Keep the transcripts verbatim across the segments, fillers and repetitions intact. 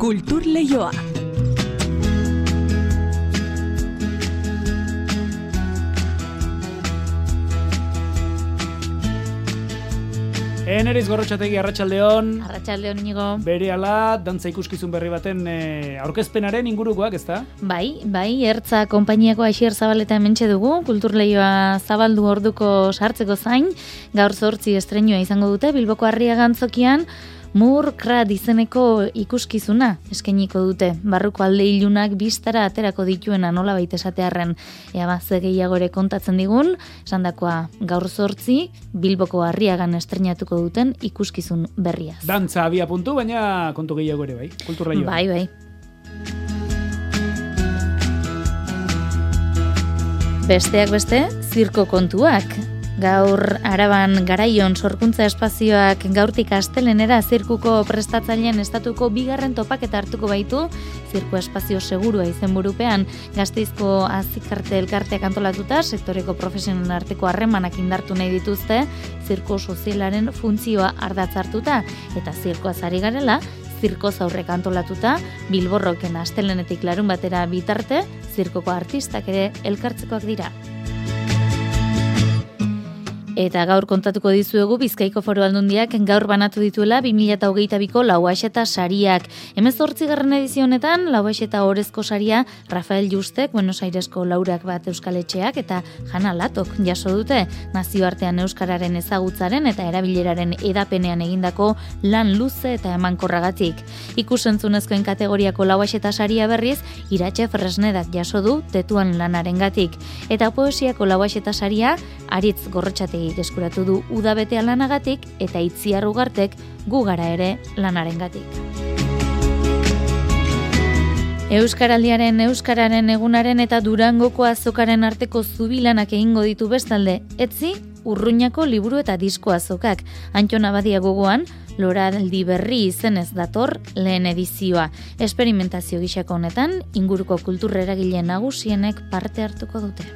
Kultur Leioa. Eneriz Gorrotxategi, arratsaldeon. Arratsaldeon Inigo. Berehala dantza ikuskizun berri baten e, aurkezpenaren ingurukoak, ezta? Bai, bai, Ertza konpainiako Aixier Zabaleta hementxe dugu, Kultur Leioa zabaldu orduko sartzeko zain, gaur zortzi estreinua izango dute Bilboko Arriaga Antzokian. Murkrat izeneko ikuskizuna eskainiko dute. Barruko alde ilunak bistara aterako dituena nolabait esatearren ea ze gehiago ere kontatzen digun, esandakoa gaur zortzi Bilboko Arriagan estreinatuko duten ikuskizun berriaz. Dantza abia puntu, baina kontu gehiago ere bai, Kultur Leioa. Bai, bai. Besteak beste, zirko kontuak. Gaur Araban Garaion sorkuntza espazioak gaurtik astelenera zirkuko prestatzailean estatuko bigarren topaketa hartuko baitu, zirko espazio segurua izenburupean Gasteizko azikarte elkarteak antolatuta, sektoreko profesionen arteko harremanak indartu nahi dituzte, zirko sozialaren funtzioa ardatz hartuta, eta zirkoaz ari garela, zirko zaurrek antolatuta, Bilborroken astelenetik larun batera bitarte, zirkoko artistak ere elkartzekoak dira. Eta gaur kontatuko dizuegu Bizkaiko Foru Aldundiak gaur banatu dituela bi mila hogeita biko Lauaxeta sariak. hemezortzigarren edizio honetan Lauaxeta orezko saria Rafael Justek, Buenos Airesko laurak bat euskaletxeak eta Jana Latok jaso dute. Nazioartean euskararen ezagutzaren eta erabileraren edapenean egindako lan luze eta emankorragatik. Ikusentzunezkoen kategoriako Lauaxeta saria berriz Iratxe Fresnedak jaso du tetuan lanarengatik. Eta poesiako Lauaxeta saria Aritz Gorrotxategi eskuratu du udabetea lanagatik eta Itziar Ugartek gu gara ere lanarengatik. Euskaraldiaren, Euskararen egunaren eta Durangoko azokaren arteko zubilanak egingo ditu bestalde, etzi Urruñako liburu eta disko azokak. Antxon Abadia gogoan, Loraldi berri izenez dator lehen edizioa. Esperimentazio gisako honetan, inguruko kultur eragile nagusienek parte hartuko dute.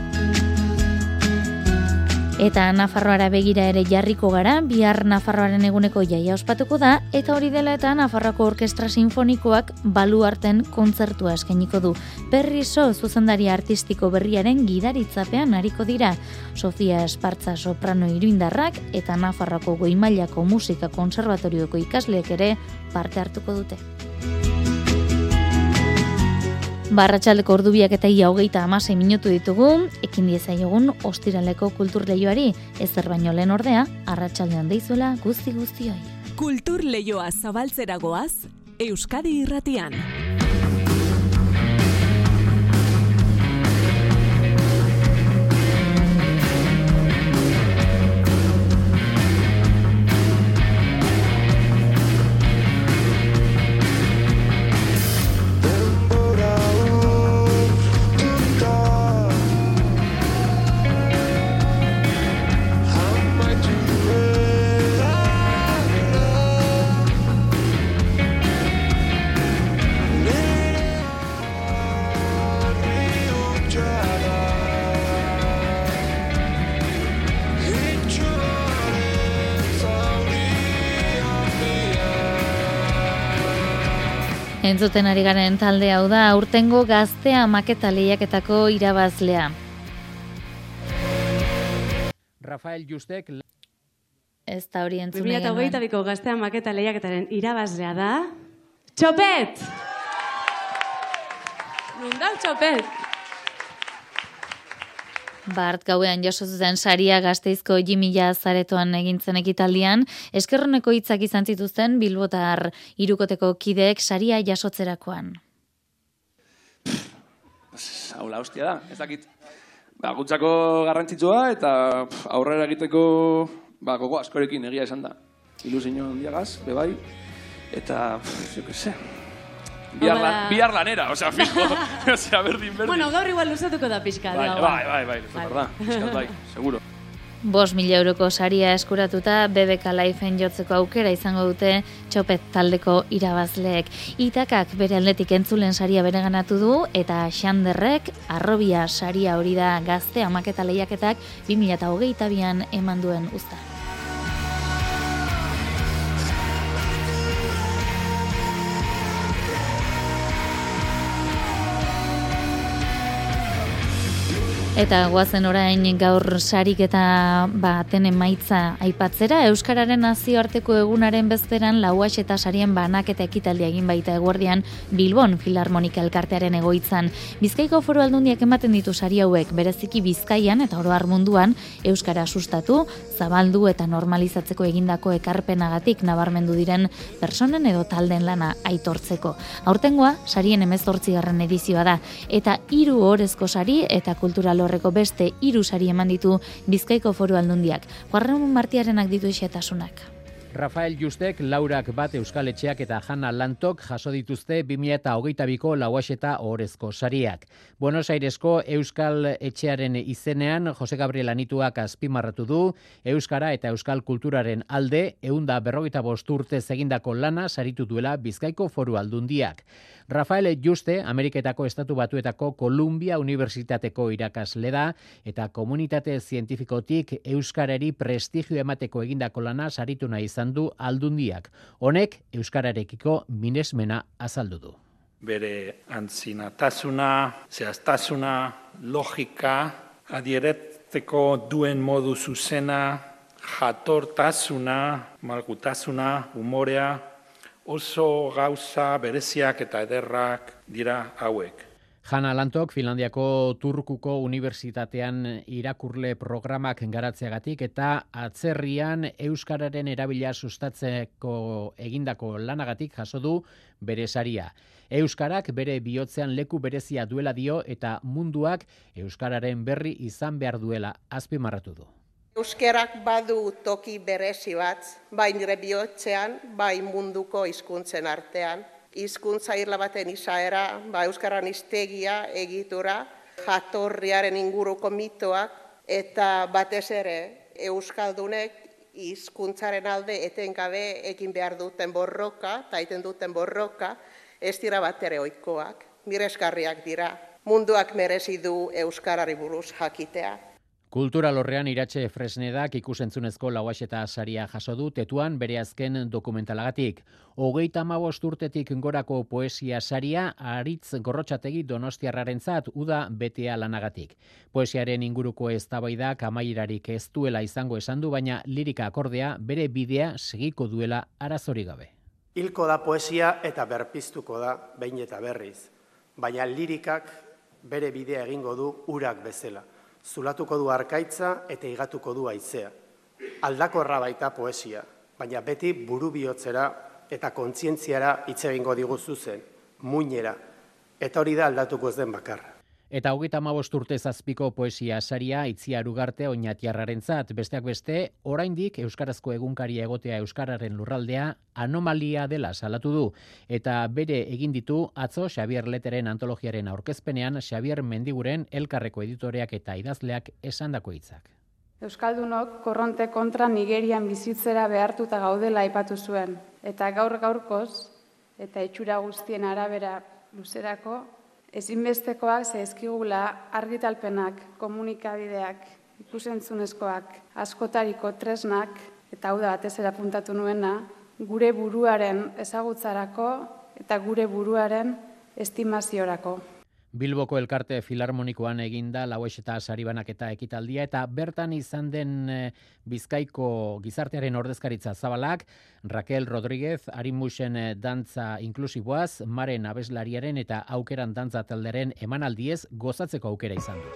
Eta Nafarroara begira ere jarriko gara, bihar Nafarroaren eguneko jaia ospatuko da, eta hori dela eta Nafarroako Orkestra Sinfonikoak baluarten kontzertua eskainiko du. Perriso zuzendari artistiko berriaren gidaritzapean ariko dira. Sofia Espartza soprano iruindarrak eta Nafarroako Goi-mailako musika konserbatorioko ikasleek ere parte hartuko dute. Barratxaldeko ordubiak eta ia hogeita hamasei minutu ditugu, ekin diezaiogun ostiraleko Kultur Leioari, ezer baino lehen ordea, arratsaldean deizuela guzti guztioi. Kultur Leioa zabaltzera goaz, Euskadi Irratian. Entzuten ari garen talde hau da, aurtengo Gaztea maketa lehiaketako irabazlea. Rafael Justek. Ez da hori entzun bi mila hogeita biko Gaztea maketa lehiaketaren irabazlea da... Txopet! Nundau Txopet! Bart gauean jaso zuten saria Gasteizko Jimila zaretoan egintzen ekitaldian, eskerroneko hitzak izan zituzten Bilbotar hirukoteko kideek saria jasotzerakoan. Haula hostia da, ez dakit. Ba, gutzako garrantzitsua eta pff, aurrera egiteko ba, gogo askorekin egia esan da. Ilusio handiagaz, bebai, eta, pff, jo que se... Bihar, lan, bihar lanera, osea, fijo, osea, berdin, berdin. Bueno, gaur igual luzatuko da pixka. Bai, bai, bai, bai, bai, bai, pixkat, bai, seguro. Bost mila euroko saria eskuratuta B B K Lifeen jotzeko aukera izango dute Txopet taldeko irabazleek. Itakak bere aldetik entzulen saria bereganatu du eta Xanderrek arrobia saria hori da Gaztea maketa lehiaketak bi mila hogeita bian eman duen uzta. Eta goazen orain gaur sarik eta baten emaitza aipatzera, Euskararen nazioarteko egunaren bezperan lauax eta sarien banak eta ekitaldia egin baita eguerdian Bilbon Filarmonika elkartearen egoitzan. Bizkaiko Foru Aldundiak ematen ditu sari hauek bereziki Bizkaian eta oro har munduan Euskara sustatu, zabaldu eta normalizatzeko egindako ekarpenagatik nabarmendu diren personen edo talden lana aitortzeko. Aurtengoa sarien hemezortzigarren edizioa da eta hiru orezko sari eta kultural horreko beste hiru sari eman ditu Bizkaiko Foru Aldundiak. Juarren Martiarenak ditu xehetasunak. Rafael Justek, Laurak bat Euskal Etxeak eta Jana Lantok jaso dituzte bi mila hogeita biko lauaxeta ohorezko sariak. Buenos Airesko Euskal Etxearen izenean Jose Gabriel Anituak azpimarratu du Euskara eta Euskal kulturaren alde ehun eta berrogeita bost urtez egindako lana saritu duela Bizkaiko Foru Aldundiak. Rafael Juste, Ameriketako Estatu Batuetako Columbia Unibertsitateko irakasle da eta komunitate zientifikotik euskarari prestigio emateko egindako lana saritu nahi izan du Aldundiak. Honek euskararekiko minesmena azaldu du. Bere antzinatasuna, zehaztasuna, logika, adieretzeko duen modu zuzena, jatortasuna, malgutasuna, umorea, oso gauza bereziak eta ederrak dira hauek. Jana Lantok, Finlandiako Turkuko Unibertsitatean irakurle programak garatzeagatik eta atzerrian euskararen erabila sustatzeko egindako lanagatik jaso du bere saria. Euskarak bere bihotzean leku berezia duela dio eta munduak euskararen berri izan behar duela azpimarratu du. Euskarak badu toki berezi bat, bai nire bihotzean, bai munduko hizkuntzen artean. Hizkuntza irla baten izaera, ba, euskaran hiztegia, egitura, jatorriaren inguruko mitoak, eta batez ere euskaldunek hizkuntzaren alde etengabe egin behar duten borroka, eta egiten duten borroka, ez dira batere ohikoak, miresgarriak dira. Munduak merezi du euskarari buruz jakitea. Kulturalorrean Iratxe Fresnedak ikusentzunezko lauaxeta saria jaso du Tetuan bere azken dokumentalagatik. Hogeita hamabost urtetik gorako poesia saria Aritz Gorrotxategi Donostiarrarentzat uda betea lanagatik. Poesiaren inguruko eztabaidak amairarik ez duela izango esan du, baina lirika akordea bere bidea segiko duela arazorik gabe. Hilko da poesia eta berpiztuko da behin eta berriz, baina lirikak bere bidea egingo du urak bezala. Zulatuko du arkaitza eta igatuko du haizea. Aldakorra baita poesia, baina beti buru bihotzera eta kontzientziara hitz egingo digu zuzen, muinera, eta hori da aldatuko ez den bakarra. Eta hogeita hamabost urte zazpiko poesia saria Itziar Ugarte Oñatiarrarentzat, besteak beste, oraindik euskarazko egunkaria egotea euskararen lurraldea anomalia dela salatu du, eta bere egin ditu atzo Xabier Leteren antologiaren aurkezpenean Xabier Mendiguren Elkarreko editoreak eta idazleak esandako hitzak. Euskaldunok korronte kontra Nigerian bizitzera behartuta gaudela aipatu zuen, eta gaur gaurkoz eta itxura guztien arabera luzerako ezinbestekoak zaizkigula argitalpenak, komunikabideak, ikusentzunezkoak, askotariko tresnak, eta hau da batez ere apuntatu nuena, gure buruaren ezagutzarako eta gure buruaren estimaziorako. Bilboko Elkarte Filarmonikoan eginda lauaxeta saribanaketa ekitaldia eta bertan izan den Bizkaiko gizartearen ordezkaritza zabalak, Raquel Rodríguez, Arimusen dantza inklusiboaz, Maren abeslariaren eta aukeran dantza talderen emanaldiez gozatzeko aukera izan du.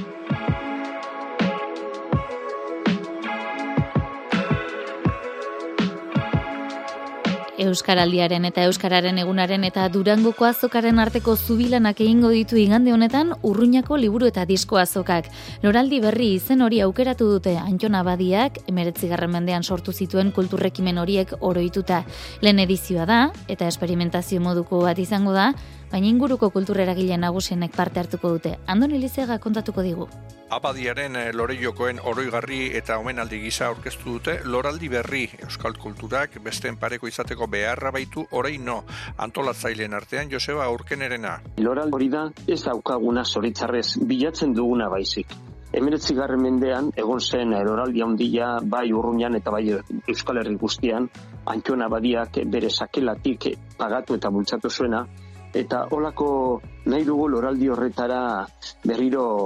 Euskaraldiaren eta Euskararen egunaren eta Durangoko azokaren arteko zubilanak egingo ditu igande honetan Urruñako liburu eta disko azokak. Loraldi berri izen hori aukeratu dute Antton Abadiak, hemeretzigarren mendean sortu zituen kulturrekimen horiek oroituta. Lehen edizioa da, eta esperimentazio moduko bat izango da, baina inguruko kultureragile nagusienek parte hartuko dute. Andoni Lizega kontatuko digu. Abadiaren Lorellokoen oroigarri eta omenaldi gisa aurkeztu dute Loraldi berri euskal kulturak besteen pareko izateko beharra baitu orain no, antolatzaileen artean Joseba Urkenerena. Loraldi hori da ez daukaguna zoritzarrez bilatzen duguna baizik. Hemeretzigarren mendean egon zen loraldi handia bai Urruñan eta bai Euskal Herri guztian, Antton Abadiak bere sakelatik pagatu eta bultzatu zuena, eta holako nahi dugu loraldi horretara berriro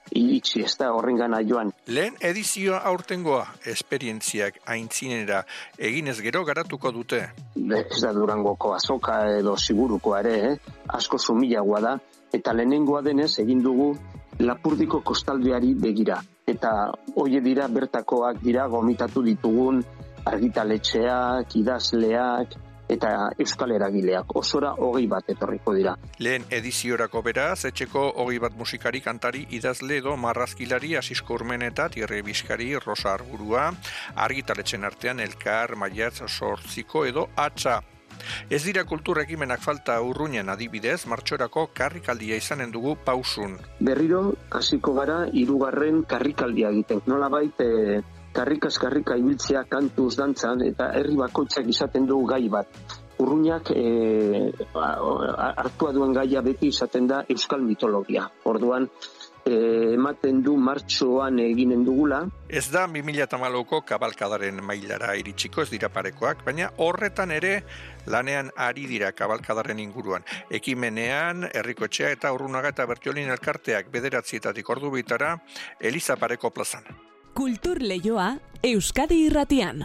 iritsi ez da horrengana joan. Lehen edizioa aurtengoa, esperientziak aintzinera eginez gero garatuko dute. Ez da Durangoko azoka edo Sigurukoa ere, eh? asko sumilagoa da, eta lehenengoa denez egin dugu Lapurdiko kostaldeari begira. Eta hoie dira bertakoak dira gomitatu ditugun argitaletxeak, idazleak, eta euskal eragileak. Osora hogei bat etorriko dira. Lehen ediziorako beraz, etxeko hogei bat musikari, kantari, idazle edo marrazkilari, Asisko Urmeneta, Tierre Bizkari, Rosa Arburua, argitaletxen artean Elkar, Maiatz, Sortziko edo Atxa. Ez dira kultur ekimenak falta Urruñan adibidez, martxorako karrikaldia izanen dugu pausun. Berriro, hasiko gara, hirugarren karrikaldia egiten. Nolabait, e, karrikaz karrika ibiltzea kantuz dantzan, eta herri bakoitzak izaten du gai bat. Urruñak e, hartua duen gaia beti izaten da euskal mitologia. Orduan, e, ematen du martxoan eginen dugula. Ez da bi mila hamalauko kabalkadaren mailara iritsiko, ez dira parekoak, baina horretan ere lanean ari dira kabalkadaren inguruan. Ekimenean, Herrikoetxea eta Urrunaga eta Bertiolin elkarteak bederatzietatik ordu bitara, Eliza Pareko plazan. Kultur Leioa, Euskadi Irratian.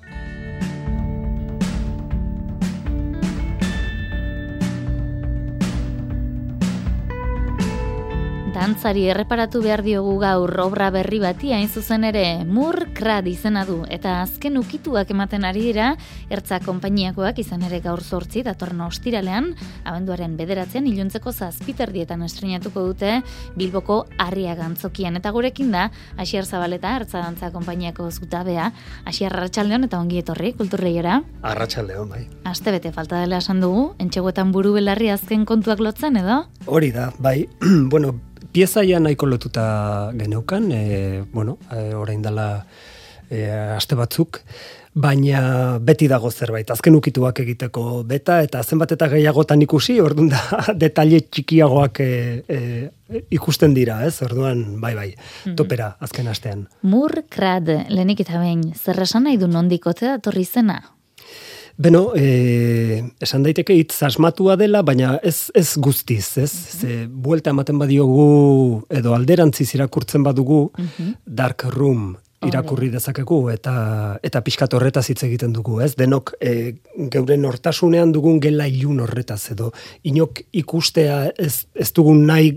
Dantzari erreparatu behar diogu gaur obra berri bati hain zuzen ere Mur-Krad izena du eta azken ukituak ematen ari dira Ertza konpainiakoak izan ere gaur zortzi datorren ostiralean abenduaren bederatzean iluntzeko zazpiterdietan estrenatuko dute Bilboko Arriaga antzokian eta gurekin da Asier Zabaleta Ertza dantza konpainiako zutabea. Asier, arratsaldeon eta ongi etorri Kulturleiora. Arratsaldeon, bai. Aste bete falta dela esan dugu, entxegoetan buru belarri azken kontuak lotzen edo? Hori da, bai. Bueno, Piezaia nahiko lotuta geneukan, e, bueno, e, orain dela e, aste batzuk, baina beti dago zerbait, azken ukituak egiteko beta, eta zenbat eta gehiagotan ikusi, orduan da, detaile txikiagoak e, e, ikusten dira, ez? Orduan, bai, bai, topera azken astean. Mur-Krad, lehenik eta behin, zer esan nahi du nondikote datorri zena? Beno, e, esan daiteke hitz asmatua dela, baina ez, ez guztiz, ez? Ze, buelta ematen badiogu, edo alderantziz irakurtzen badugu, Dark Room irakurri dezakegu, eta eta pixkat horretaz hitz egiten dugu, ez? Denok e, geure nortasunean dugun gela ilun horretaz, edo inok ikustea ez, ez dugun nahi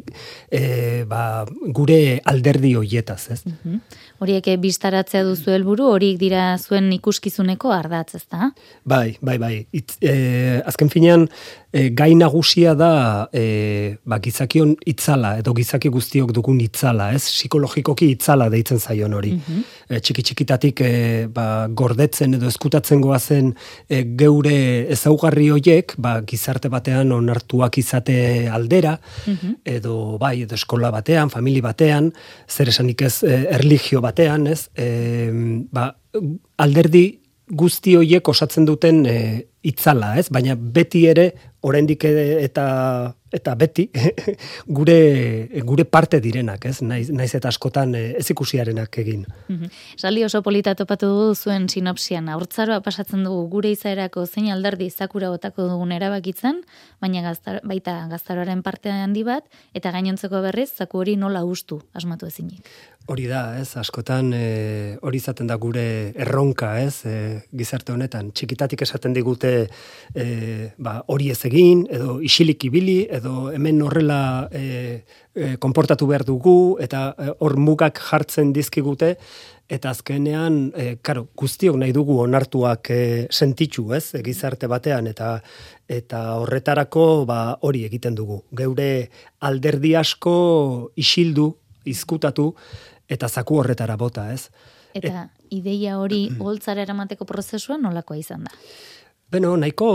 e, ba, gure alderdi hoietaz, ez? Horiek biztaratzea duzu helburu, horiek dira zuen ikuskizuneko ardatz, ezta? Bai, bai, bai. Itz, e, azken finean, e, gai nagusia da e, ba, gizakion itzala, edo gizaki guztiok dugun itzala, ez? Psikologikoki itzala deitzen zaion hori. Mm-hmm. E, txiki-txikitatik e, ba, gordetzen edo eskutatzen goazen e, geure ezaugarri hoiek, ba, gizarte batean onartuak izate aldera, mm-hmm. edo bai, edo eskola batean, famili batean, zer esanik ez e, erlijio batean, ez? E, ba, alderdi guzti hoiek osatzen duten e, itzala, ez? Baina beti ere, oraindik eta eta beti gure gure parte direnak, ez? Naiz, naiz eta askotan ez ikusiarenak egin. Saldi oso polita topatu dugu zuen sinopsian. Haurtzaroa pasatzen dugu gure izaerako zein alderdi zakura botako dugun erabakitzen, baina gaztar, baita gaztaroaren parte handi bat, eta gainontzeko berriz zaku hori nola hustu asmatu ezinik. Hori da, ez, askotan e, hori izaten da gure erronka, ez, e, gizarte honetan. Txikitatik esaten digute e, ba, hori ez egin, edo isilik ibili, edo hemen horrela e, e, konportatu behar dugu, eta hor e, mugak jartzen dizkigute, eta azkenean, e, karo, guztiok nahi dugu onartuak e, sentitzu, ez, e, gizarte batean, eta eta horretarako ba, hori egiten dugu. Geure alderdi asko isildu, izkutatu, eta zaku horretara bota, ez? Eta Et, ideia hori holtzara eramateko prozesua nolakoa izan da? Beno, nahiko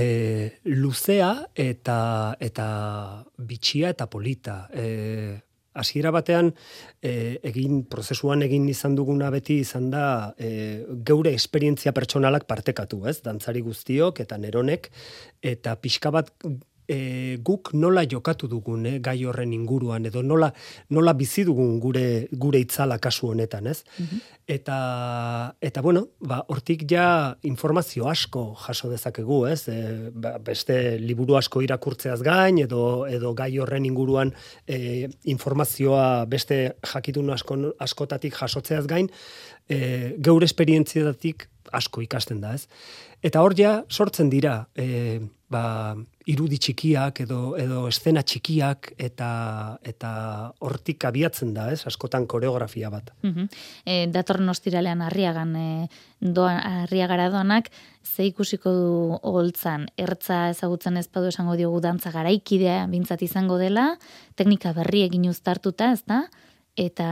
e, luzea eta eta bitxia eta polita. E, hasiera batean e, egin prozesuan egin izan duguna beti izan da e, geure esperientzia pertsonalak partekatu, ez? Dantzari guztiok eta neronek, eta pixka bat e, guk nola jokatu dugun eh, gai horren inguruan, edo nola, nola bizi dugun gure, gure itzala kasu honetan, ez? Mm-hmm. Eta, eta bueno, ba, hortik ja informazio asko jaso dezakegu, ez? E, ba, beste liburu asko irakurtzeaz gain, edo, edo gai horren inguruan e, informazioa beste jakitun asko, askotatik jasotzeaz gain, e, geure esperientziatik asko ikasten da, ez? Eta hor ja sortzen dira e, ba, irudi txikiak edo, edo eszena txikiak eta eta hortik abiatzen da, ez? Askotan koreografia bat. Uh-huh. E, datorren ostiralean Arriagan e, doan, Arriagara doanak, ze ikusiko du holtzan, ertza ezagutzen ez badu esango diogu dantza garaikidea bintzat izango dela, teknika berri egin uztartuta, ez da? Eta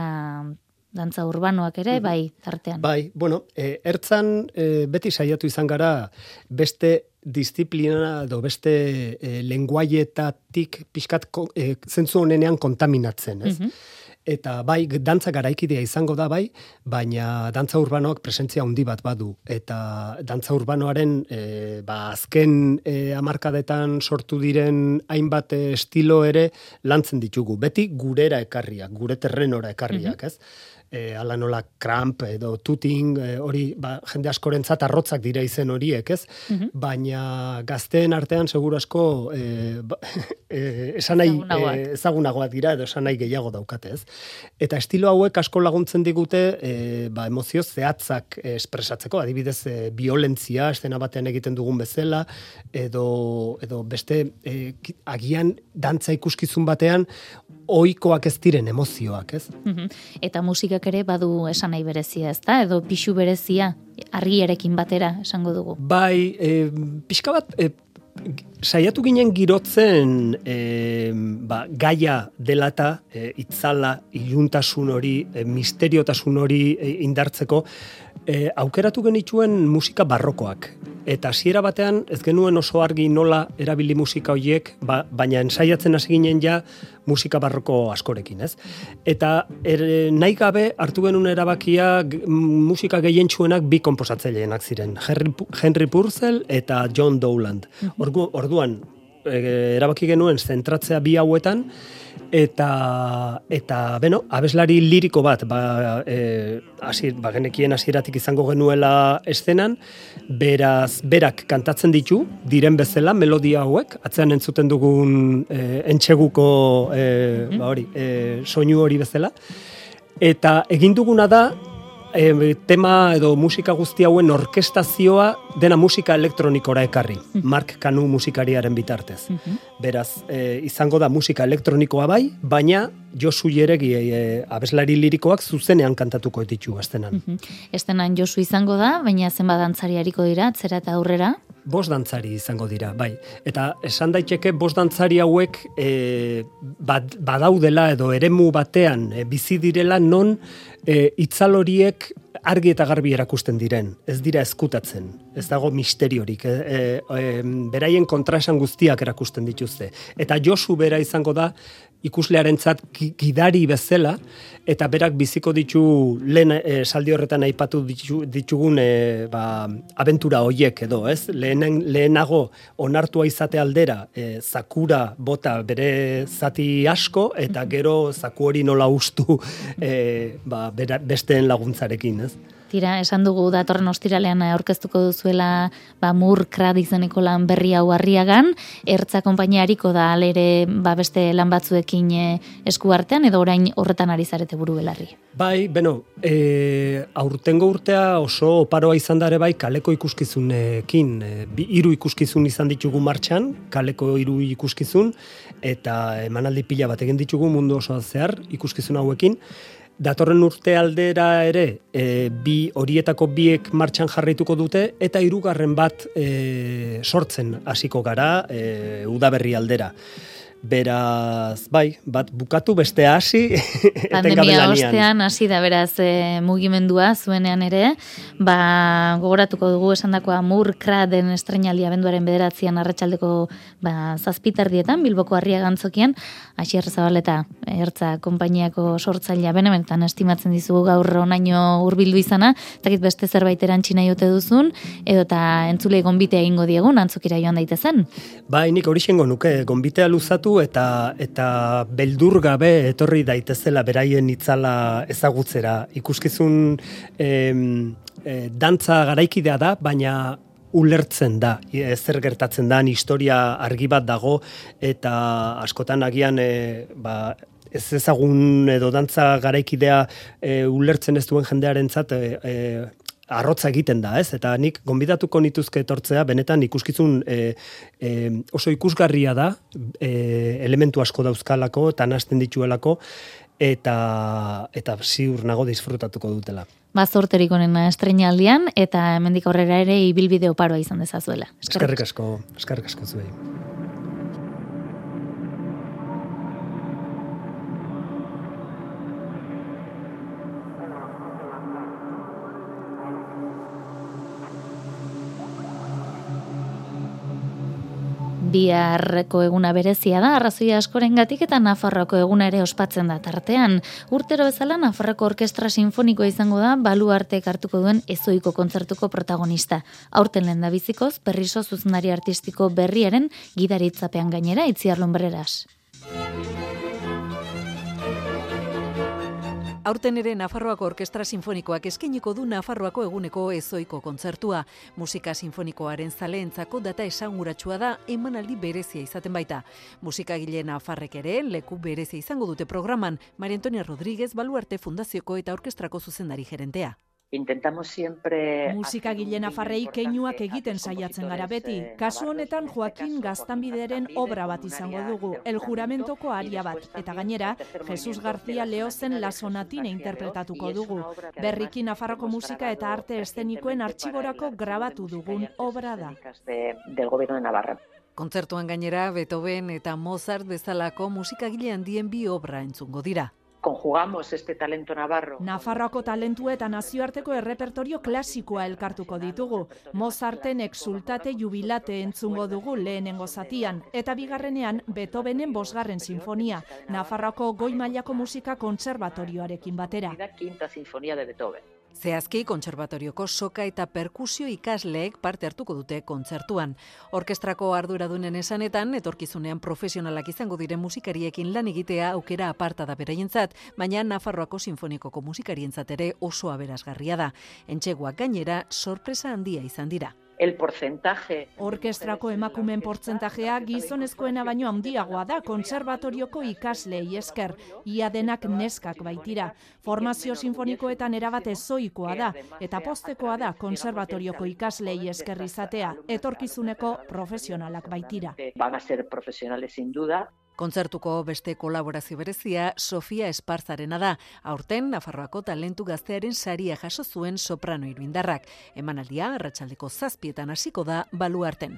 dantza urbanoak ere, bai, tartean. Bai, bueno, e, ertzan e, beti saiatu izan gara beste disiplina edo beste e, lenguaietatik pixkat e, zentzu honenean kontaminatzen, ez? Mm-hmm. Eta bai, dantza garaikidea izango da bai, baina dantza urbanoak presentzia handi bat badu. Eta dantza urbanoaren e, ba, azken e, hamarkadetan sortu diren hainbat e, estilo ere lantzen ditugu. Beti gurera ekarriak, gure terrenora ekarriak, mm-hmm. ez? E, ala nola cramp edo tuting, e, hori ba, jende askorentzat arrotzak dira izen horiek, ez? Mm-hmm. Baina gazteen artean seguru asko e, ba, e, esan nahi ezagunagoak. E, ezagunagoak dira edo esan nahi gehiago daukate, ez? Eta estilo hauek asko laguntzen digute e, ba, emozio zehatzak e, espresatzeko, adibidez e, violentzia, estena batean egiten dugun bezala, edo, edo beste e, agian dantza ikuskizun batean ohikoak ez diren emozioak, ez? Mm-hmm. Eta musikak ere badu esan nahi berezia, ez da? Edo pixu berezia, argiarekin batera esango dugu. Bai, e, pixka bat, e, saiatu ginen girotzen e, ba, gaia dela eta e, itzala, iluntasun hori, e, misteriotasun hori e, indartzeko, e, aukeratu genituen musika barrokoak. Eta hasiera batean ez genuen oso argi nola erabili musika horiek, ba, baina ensaiatzen hasi ginen ja musika barroko askorekin, ez? Eta er, nahi gabe hartu genuen erabakia musika gehientsuenak bi konposatzaileenak ziren, Henry, Henry Purcell eta John Dowland. Ordu, orduan e, erabaki genuen zentratzea bi hauetan, eta eta beno, abeslari liriko bat, ba eh hasi ba genekien hasieratik izango genuela eszenan, beraz berak kantatzen ditu diren bezala melodia hauek, atzean entzuten dugun e, entseguko e, ba hori, e, soinu hori bezala, eta egin duguna da E, tema edo musika guzti hauen orkestazioa dena musika elektronikora ekarri, mm-hmm. Mark Kanu musikariaren bitartez. Mm-hmm. Beraz, e, izango da musika elektronikoa bai, baina Josu Jeregi e, abeslari lirikoak zuzenean kantatuko ditu estenan. Mm-hmm. Estenan Josu izango da, baina zenba dantzari hariko dira, atzera eta aurrera? Bost dantzari izango dira, bai. Eta esan daiteke bost dantzari hauek e, bad, badaudela edo eremu batean e, bizi direla non e, itzal horiek argi eta garbi erakusten diren, ez dira ezkutatzen, ez dago misteriorik, e, e, beraien kontraesan guztiak erakusten dituzte. Eta Josu bera izango da ikuslearentzat gidari bezala, eta berak biziko ditu lehen e, saldi horretan aipatu ditu, ditugun e, ba, abentura hoiek edo, ez? Lehenen, lehenago onartua izate aldera, e, zakura bota bere zati asko, eta gero zaku hori nola ustu e, ba, bera, besteen laguntzarekin, ez? Tira, esan dugu datorren ostiralean aurkeztuko duzuela ba, Mur Krad izeneko lan berri hau Arriagan, Ertza konpainia hariko da alere ba, beste lan batzuekin e, esku artean, edo orain horretan ari zarete buru belarri? Bai, beno, e, aurtengo urtea oso oparoa izan dare bai kaleko ikuskizunekin, e, bi, hiru ikuskizun izan ditugu martxan, kaleko hiru ikuskizun, eta emanaldi pila bat egin ditugu mundu osoan zehar ikuskizun hauekin. Datorren urte aldera ere, e, bi horietako biek martxan jarraituko dute, eta hirugarren bat e, sortzen hasiko gara e, udaberri aldera. Beraz, bai, bat bukatu beste hasi pandemia ostean hasi da beraz e, mugimendua zuenean ere, ba gogoratuko dugu esandakoa Murkra den estreinaldia abenduaren bederatzian arratsaldeko ba zazpiterdietan Bilboko Arriagantzokian, Asier Zabaleta Ertza konpainiako sortzailea benetan estimatzen dizugu gaur onaino hurbildu izana, dakit beste zerbait erantsi nahi ote duzun edo ta entzulei gonbitea egingo diegun antzokira joan daitezen. Bai, nik horixengo nuke gonbitea luzatu eta eta beldur gabe etorri daitezela beraien itzala ezagutzera. Ikuskizun em, e, dantza garaikidea da, baina ulertzen da, zer gertatzen da, historia argi bat dago eta askotan agian e, ba, ez ezagun edo dantza garaikidea e, ulertzen ez duen jendearentzat e, e, arrotza egiten da, ez? Eta nik gonbidatuko nituzke etortzea, benetan ikuskizun e, e, oso ikusgarria da, e, elementu asko dauzkalako eta nahasten dituelako, eta eta ziur nago disfrutatuko dutela. Bazorterik onena estreinaldian eta hemendik aurrera ere ibilbide oparoa izan dezazuela. Eskerrik asko, eskerrik asko zuei. Biharreko eguna berezia da, arrazoia askorengatik eta Nafarroako eguna ere ospatzen da tartean. Urtero bezala Nafarroako Orkestra Sinfonikoa izango da baluartek hartuko duen ezoiko kontzertuko protagonista. Aurten lehendabizikoz, Perriso zuzendari artistiko berriaren gidaritzapean gainera Itziar Lumbreras. Aurten ere Nafarroako Orkestra Sinfonikoak eskainiko du Nafarroako eguneko ezoiko kontzertua. Musika sinfonikoaren zaleentzako data esanguratsua da, emanaldi berezia izaten baita. Musikagile nafarrek ere leku berezia izango dute programan, Maria Antonia Rodríguez Baluarte Fundazioko eta orkestrako zuzendari gerentea. Intentamos siempre musikagile nafarrei keinuak egiten saiatzen gara beti. Kasu honetan Joaquin Gaztanbideren obra bat izango dugu, El Juramentoko aria bat, eta gainera Jesus García Leozen La Sonatina interpretatuko dugu. Berriki Nafarroko musika eta arte eszenikoen artxiborako grabatu dugun obra da. Del Gobierno de Navarra. Kontzertuan gainera Beethoven eta Mozart bezalako musikagile handien bi obra entzungo dira. Conjugamos este talento navarro. Nafarroako talentu eta nazioarteko errepertorio klasikoa elkartuko ditugu. Mozarten Exultate Jubilate entzungo dugu lehenengo zatian, eta bigarrenean Beethovenen bosgarren sinfonia, Nafarroako goi mailako musika kontserbatorioarekin batera. Quinta sinfonía de Beethoven. Zehazki, kontserbatorioko soka eta perkusio ikasleek parte hartuko dute kontzertuan. Orkestrako arduradunen esanetan, etorkizunean profesionalak izango diren musikariekin lan egitea aukera aparta da beraientzat, baina Nafarroako sinfonikoko musikarientzat ere oso aberasgarria da. Entseguak gainera sorpresa handia izan dira. El porcentaje. Orkestrako emakumen portzentajea gizonezkoena baino handiagoa da kontserbatorioko ikaslei esker, ia denak neskak baitira. Formazio sinfonikoetan erabat ezoikoa da, eta postekoa da kontserbatorioko ikaslei esker izatea, etorkizuneko profesionalak baitira. Van a ser profesionales sin duda. Kontzertuko beste kolaborazio berezia Sofia Esparzarena da. Aurten Nafarroako talentu gaztearen saria jaso zuen soprano iruindarrak. Emanaldia arratsaldeko zazpietan hasiko da Baluarten.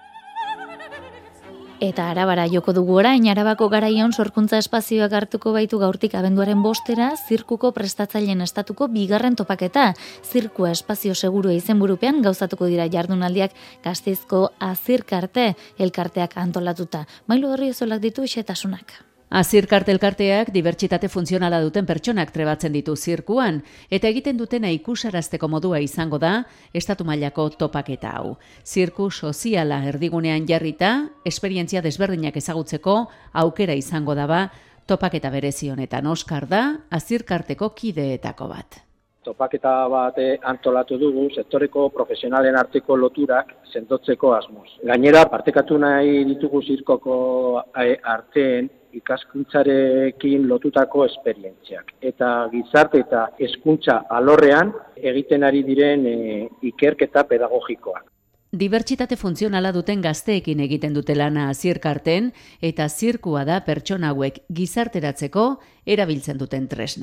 Eta Arabara joko dugu orain, Arabako garaion sorkuntza espazioak hartuko baitu gaurtik abenduaren bostera, zirkuko prestatzaileen estatuko bigarren topaketa. Zirkua espazio segurua izenburupean gauzatuko dira jardunaldiak Gasteizko Azirkarte elkarteak antolatuta. Mailu Orriozolak ditu xetasunak. Azirkarte elkarteak dibertsitate funtzionala duten pertsonak trebatzen ditu zirkuan, eta egiten dutena ikusarazteko modua izango da estatu mailako topaketa hau. Zirku soziala erdigunean jarrita, esperientzia desberdinak ezagutzeko aukera izango daba, topaketa berezi honetan Oskar da, Azirkarteko kideetako bat. Topaketa bat antolatu dugu sektoreko profesionalen arteko loturak sendotzeko asmoz. Gainera, partekatu nahi ditugu zirkoko arteen ikaskuntzarekin lotutako esperientziak. Eta gizarte eta hezkuntza alorrean egiten ari diren e, ikerketa pedagogikoak. Dibertsitate funtzionala duten gazteekin egiten dute lana Azirkarten, eta zirkua da pertsona hauek gizarteratzeko erabiltzen duten tresna.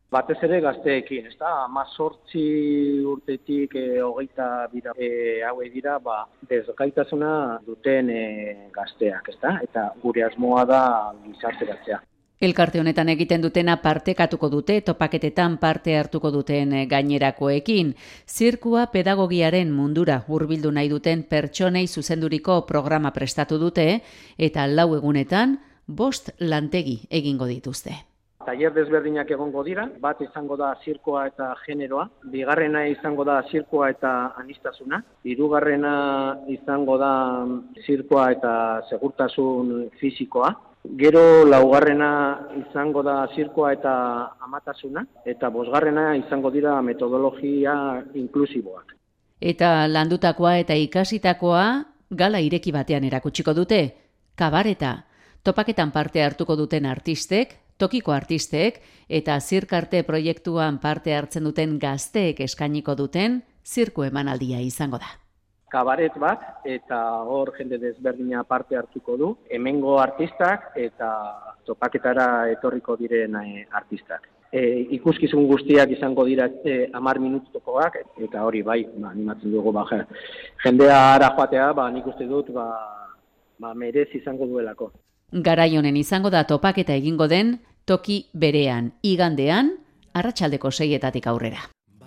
Batez ere gazteekin, ez da, amazortzi urtetik e, hogeita bira e, haue dira, ba, desgaitasuna duten e, gazteak, ez da, eta gure asmoa da gizarteratzea. Elkarte honetan egiten dutena partekatuko dute, topaketetan parte hartuko duten gainerakoekin. Zirkua pedagogiaren mundura hurbildu nahi duten pertsonei zuzenduriko programa prestatu dute, eta lau egunetan bost lantegi egingo dituzte. Taller desberdinak egongo dira, bat izango da zirkoa eta generoa, bigarrena izango da zirkoa eta anistasuna, hirugarrena izango da zirkoa eta segurtasun fisikoa, gero laugarrena izango da zirkoa eta amatasuna, eta bosgarrena izango dira metodologia inklusiboak. Eta landutakoa eta ikasitakoa gala ireki batean erakutsiko dute, kabareta, topaketan parte hartuko duten artistek, tokiko artistek eta zirkarte proiektuan parte hartzen duten gazteek eskainiko duten zirku emanaldia izango da. Kabaret bat eta hor jende desberdina parte hartuko du, hemengo artistak eta topaketara etorriko diren artistak. E, ikuskizun guztiak izango dira e, amar minutukoak, eta hori bai, ba, animatzen dugu, ba, jendea ara joatea, ba, nik uste dut, ba, ba, merez izango duelako. Garai honen izango da topaketa egingo den toki berean, igandean, arratsaldeko seietatik aurrera.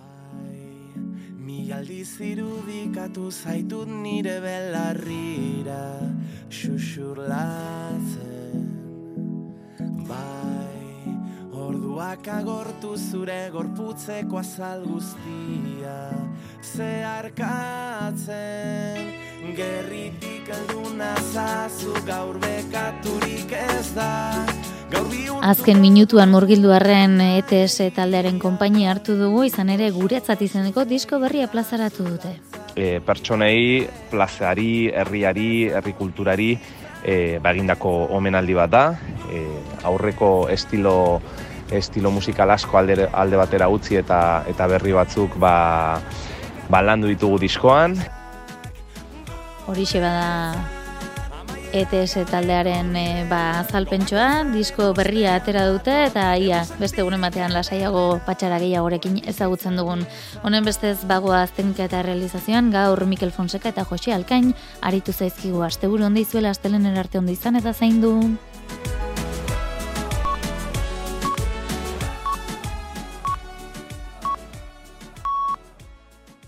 Mi aldiz irudikatu zaitut nire belarrira xuxurlatzen. Bai, orduak agortu zure gorputzeko azal guztia zeharkatzen. Gerritik alduna zazu gaur bekaturik ez da. Azken minutuan murgildu arren E T S taldearen konpainia hartu dugu, izan ere guretzat izeneko disko berria plazaratu dute. E, pertsonei, plazari, herriari, herrikulturari e, bagindako omenaldi bat da. E, aurreko estilo, estilo musikal asko alde, alde batera utzi eta, eta berri batzuk ba, ba landu ditugu diskoan. Horixe bada E T S taldearen e, ba, azalpentsoa, disko berria atera dute eta ia beste egunen batean lasaiago patxara gehiagorekin ezagutzen dugun. Honen bestez bagoa aztenika eta realizazioan gaur Mikel Fonseca eta Jose Alkain aritu zaizkigu asteburu ondo izuela, astelener arte ondo izan eta zaindu.